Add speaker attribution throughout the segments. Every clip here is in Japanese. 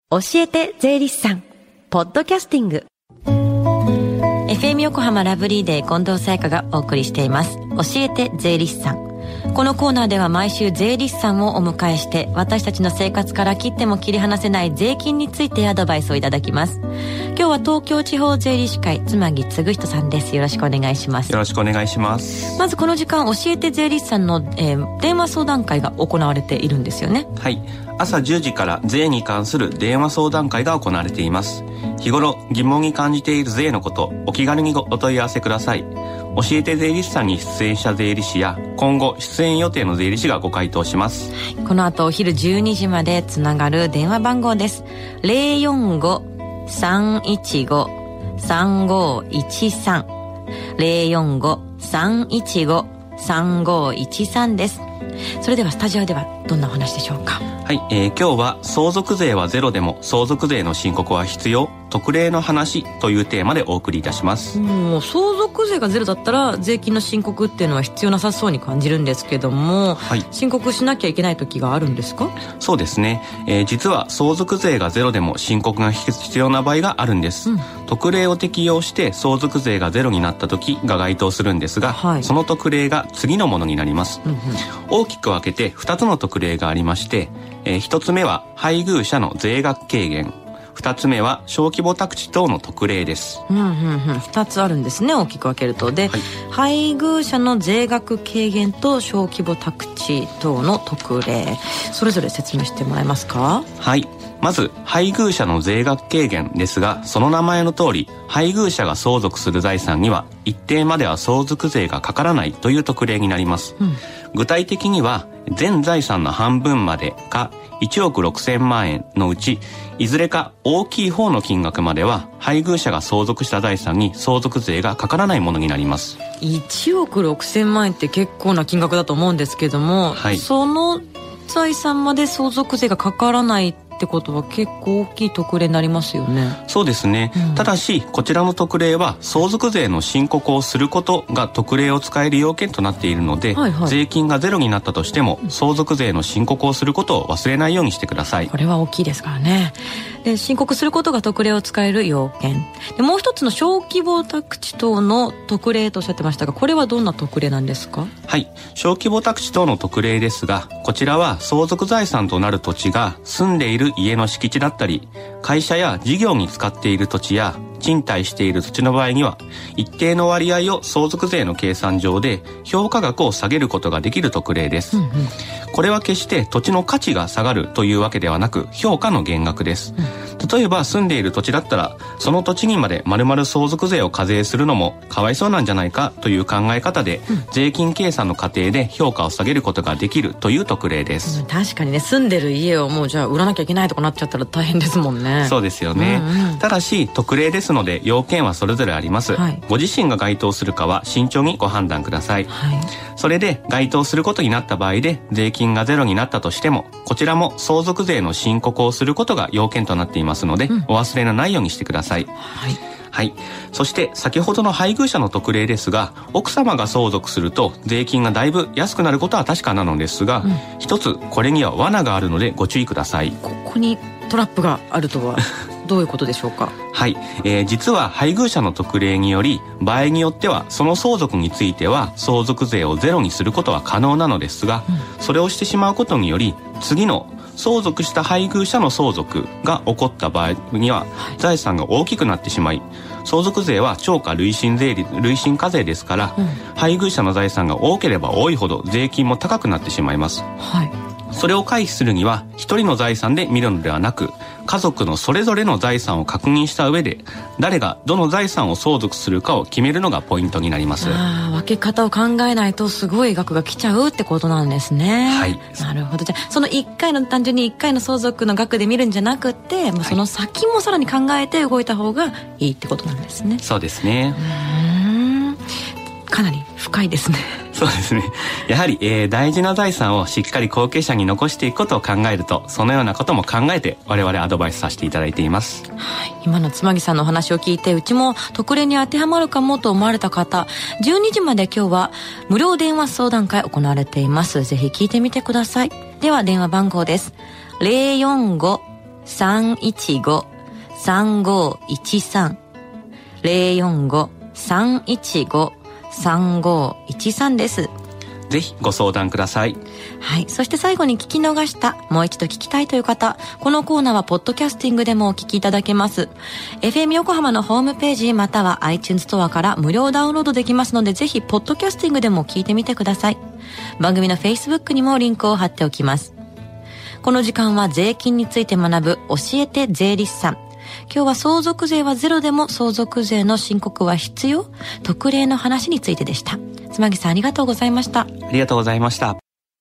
Speaker 1: 教えて税理士さんポッドキャスティング FM 横浜ラブリーデー近藤沙耶香がお送りしています。教えて税理士さん。このコーナーでは毎週税理士さんをお迎えして私たちの生活から切っても切り離せない税金についてアドバイスをいただきます。今日は東京地方税理士会妻木嗣人さんです。よろしくお願いします。
Speaker 2: よろしくお願いします。
Speaker 1: まずこの時間教えて税理士さんの、電話相談会が行われているんですよね。
Speaker 2: はい、朝10時から税に関する電話相談会が行われています。日頃疑問に感じている税のこと、お気軽にお問い合わせください。教えて税理士さんに出演した税理士や今後出演予定の税理士がご回答します。
Speaker 1: この後お昼12時までつながる電話番号です。 045-315-3513 045-315-3513 です。それではスタジオではどんなお話でしょうか。
Speaker 2: はい、今日は相続税はゼロでも相続税の申告は必要、特例の話というテーマでお送りいたします。
Speaker 1: もう相続税がゼロだったら税金の申告っていうのは必要なさそうに感じるんですけども、はい、申告しなきゃいけない時があるんですか？
Speaker 2: そうですね、実は相続税がゼロでも申告が必要な場合があるんです、特例を適用して相続税がゼロになった時が該当するんですが、はい、その特例が次のものになります、大きく分けて2つの特例がありまして、1つ目は配偶者の税額軽減、2つ目は小規模宅地等の特例です。
Speaker 1: 2つあるんですね、大きく分けると。で、はい、配偶者の税額軽減と小規模宅地等の特例、それぞれ説明してもらえますか？
Speaker 2: はい、まず配偶者の税額軽減ですが、その名前の通り配偶者が相続する財産には一定までは相続税がかからないという特例になります、具体的には全財産の半分までか1億6000万円のうちいずれか大きい方の金額までは配偶者が相続した財産に相続税がかからないものになります。
Speaker 1: 1億6000万円って結構な金額だと思うんですけども、はい、その財産まで相続税がかからないってことは結構大きい特例になりますよね。
Speaker 2: そうですね、ただしこちらの特例は相続税の申告をすることが特例を使える要件となっているので、税金がゼロになったとしても相続税の申告をすることを忘れないようにしてください。
Speaker 1: これは大きいですからね。で、申告することが特例を使える要件で、もう一つの小規模宅地等の特例とおっしゃってましたが、これはどんな特例なんですか？
Speaker 2: はい、小規模宅地等の特例ですが、こちらは相続財産となる土地が住んでいる家の敷地だったり、会社や事業に使っている土地や賃貸している土地の場合には一定の割合を相続税の計算上で評価額を下げることができる特例です、これは決して土地の価値が下がるというわけではなく評価の減額です、例えば住んでいる土地だったらその土地にまで丸々相続税を課税するのもかわいそうなんじゃないかという考え方で、税金計算の過程で評価を下げることができるという特例です、
Speaker 1: 確かにね、住んでる家をもうじゃあ売らなきゃいけないとかなっちゃったら大変ですもんね。
Speaker 2: そうですよね、ただし特例ですので要件はそれぞれあります、ご自身が該当するかは慎重にご判断ください、それで該当することになった場合で税金がゼロになったとしても、こちらも相続税の申告をすることが要件となっていますので、お忘れのないようにしてください。はい、そして先ほどの配偶者の特例ですが、奥様が相続すると税金がだいぶ安くなることは確かなのですが、一つこれには罠があるのでご注意ください。
Speaker 1: ここにトラップがあるとはどういうことでしょうか？
Speaker 2: はい、実は配偶者の特例により場合によってはその相続については相続税をゼロにすることは可能なのですが、それをしてしまうことにより次の相続した配偶者の相続が起こった場合には財産が大きくなってしまい、相続税は超過累進課税ですから、配偶者の財産が多ければ多いほど税金も高くなってしまいます、それを回避するには一人の財産で見るのではなく、家族のそれぞれの財産を確認した上で誰がどの財産を相続するかを決めるのがポイントになります。
Speaker 1: 分け方を考えないとすごい額が来ちゃうってことなんですね。なるほど。じゃあその単純に1回の相続の額で見るんじゃなくて、もうその先もさらに考えて動いた方がいいってことなんですね。
Speaker 2: そうですね。
Speaker 1: かなり深いですね。
Speaker 2: そうですね。やはり、大事な財産をしっかり後継者に残していくことを考えると、そのようなことも考えて我々アドバイスさせていただいています。
Speaker 1: 今の妻木さんのお話を聞いて、うちも特例に当てはまるかもと思われた方、12時まで今日は無料電話相談会行われています。ぜひ聞いてみてください。では電話番号です。 045-315-3513 045-315-3513です。
Speaker 2: ぜひご相談ください。
Speaker 1: はい。そして最後に聞き逃した、もう一度聞きたいという方、このコーナーはポッドキャスティングでもお聞きいただけます。FM 横浜のホームページまたは iTunes ストアから無料ダウンロードできますので、ぜひポッドキャスティングでも聞いてみてください。番組の Facebook にもリンクを貼っておきます。この時間は税金について学ぶ教えて税理士さん。今日は相続税はゼロでも相続税の申告は必要？特例の話についてでした。妻木さんありがとうございました。
Speaker 2: ありがとうございました。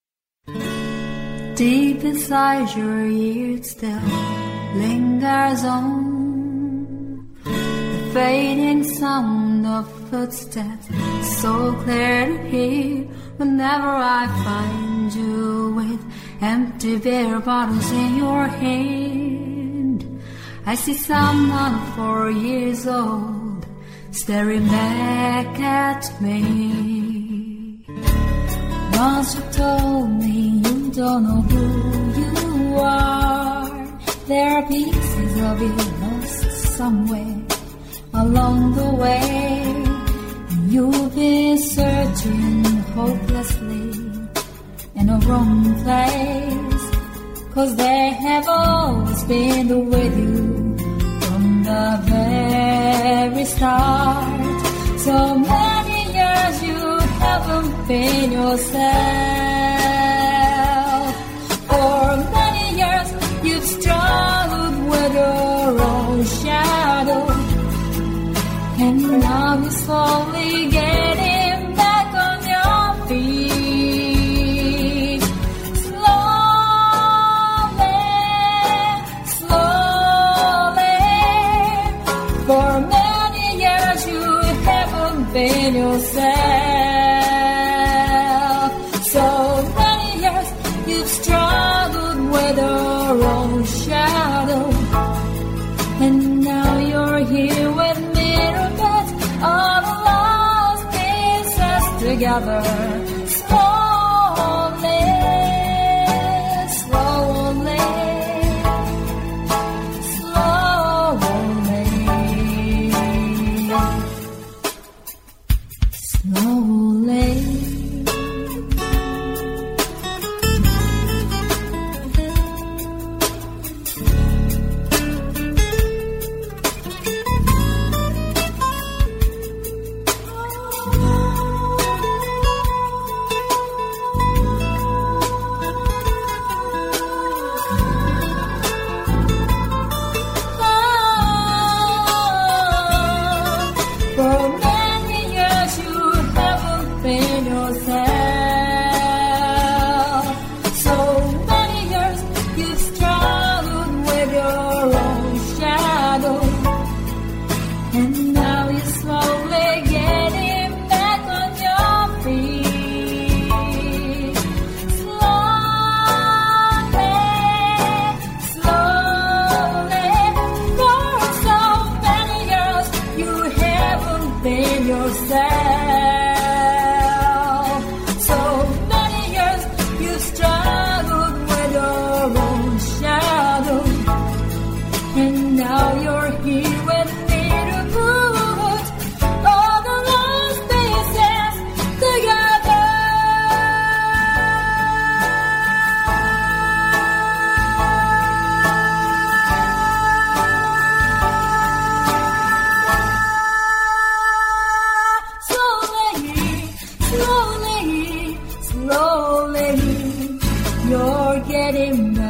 Speaker 3: Deep inside your ears still lingers on the fading sound of footsteps, so clear to hear whenever I find you with empty beer bottles in your hand. I see someone 4 years old staring back at me. Once you told me you don't know who you are. There are pieces of you lost somewhere along the way. You've been searching hopelessly in a wrong place, 'cause they have always been with you from the very start. So many years you haven't been yourself. For many years you've struggled with your own shadow, and now you're slowly getting back on your feet. Slowly, slowly. For many years you haven't been yourself. So many years you've struggled with your own shadow, and now you're here with me to put all the lost pieces together. Slowly, slowly, slowly, slowly. For many years you haven't been yourself. So many years you've struggled with your own shadow, and now you're slowly getting back on your feet. Slowly, slowly. For so many years you haven't been yourself. So many years you've struggled with your own shadow, and now you're here with me to put all the lost pieces together. Slowly, slowly, slowly, you're getting better.